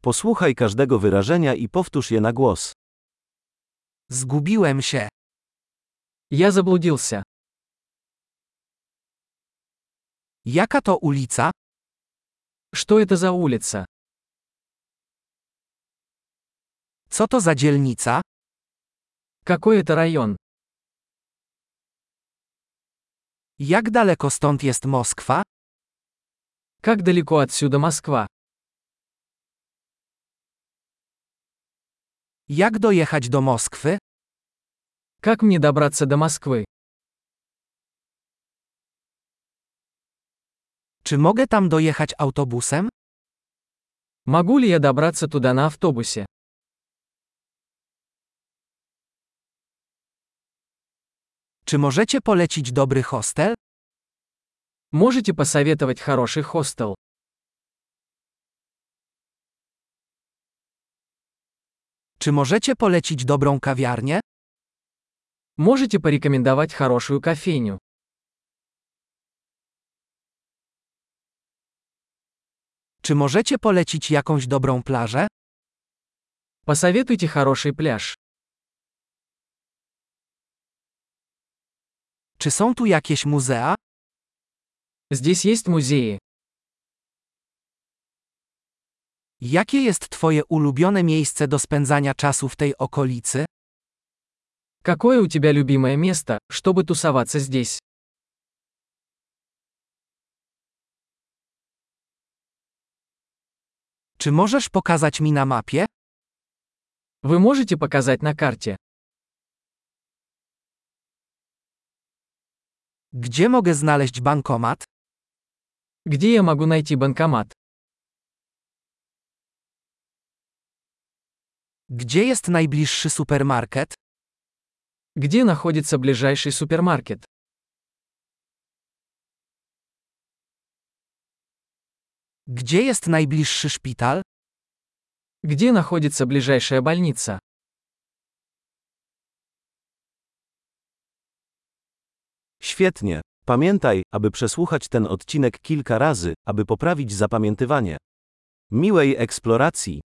Posłuchaj każdego wyrażenia i powtórz je na głos. Zgubiłem się. Я заблудился. Jaka to ulica? Что это за улица? Co to za dzielnica? Какой это район? Jak daleko stąd jest Moskwa? Как далеко отсюда Москва? Jak dojechać do Moskwy? Как мне добраться до Москвы? Czy mogę tam dojechać autobusem? Могу ли я добраться туда на автобусе? Czy możecie polecić dobry hostel? Можете посоветовать хороший хостел? Czy możecie polecić dobrą kawiarnię? Можете порекомендовать хорошую кофейню? Czy możecie polecić jakąś dobrą plażę? Посоветуйте хороший пляж. Czy są tu jakieś muzea? Здесь есть музеи. Jakie jest twoje ulubione miejsce do spędzania czasu w tej okolicy? Какое у тебя любимое место, чтобы тусоваться здесь? Czy możesz pokazać mi na mapie? Вы можете показать на карте? Gdzie mogę znaleźć bankomat? Где я могу найти банкомат? Gdzie jest najbliższy supermarket? Где находится ближайший супермаркет? Gdzie jest najbliższy szpital? Где находится ближайшая больница? Świetnie. Pamiętaj, aby przesłuchać ten odcinek kilka razy, aby poprawić zapamiętywanie. Miłej eksploracji!